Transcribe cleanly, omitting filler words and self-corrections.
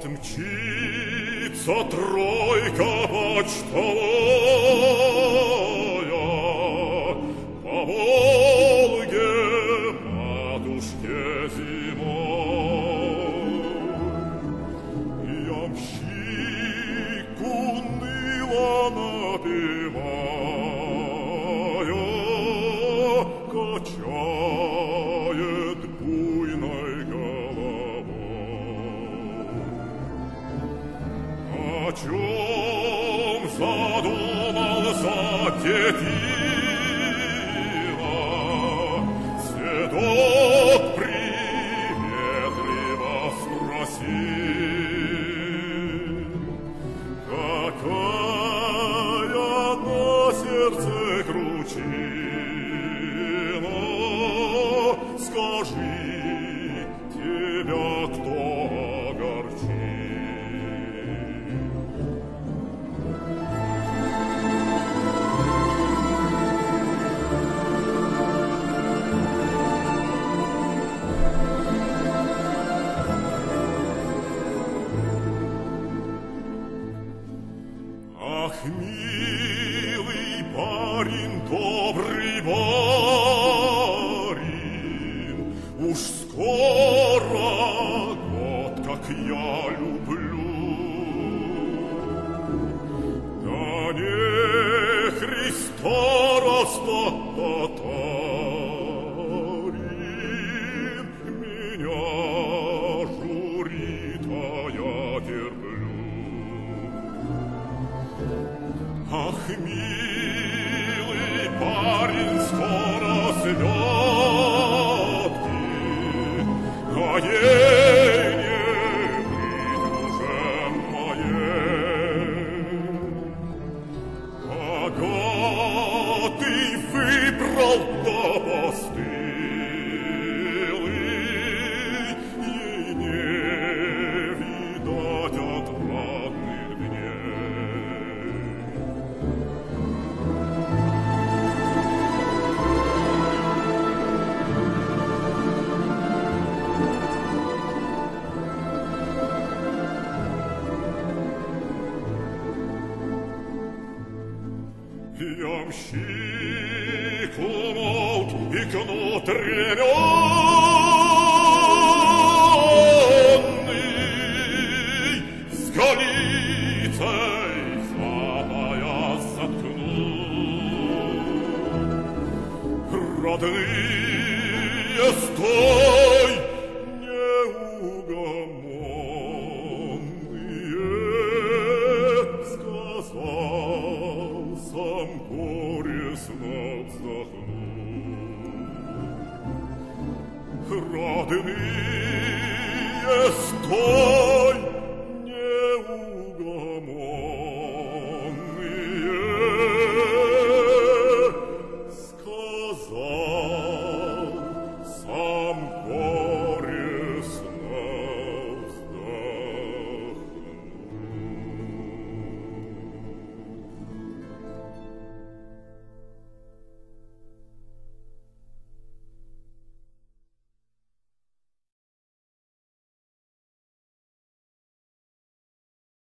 Вот мчится тройка почтовая по Волге матушке зимой. Ямщик уныло напевая качает буйной головой. О чем задумался Тетила, седок приветливо спросил. Какая на сердце кручина, скажи, тебя кто огорчил? Ах, милый парень, добрый барин, уж скоро год, как я люблю. Да не Христа татарин меня журит, а я терплю. Ах, милый парень, скоро святки, а ей не быть уже моей. Богатый выбрал до постылый, ей не видать отрадных дней. Ямщик умолк и кнут ременный с голицей за пояс заткнул. Родные, стой, неугомонные, сказал, сам горестно вздохнул. Родные, стой!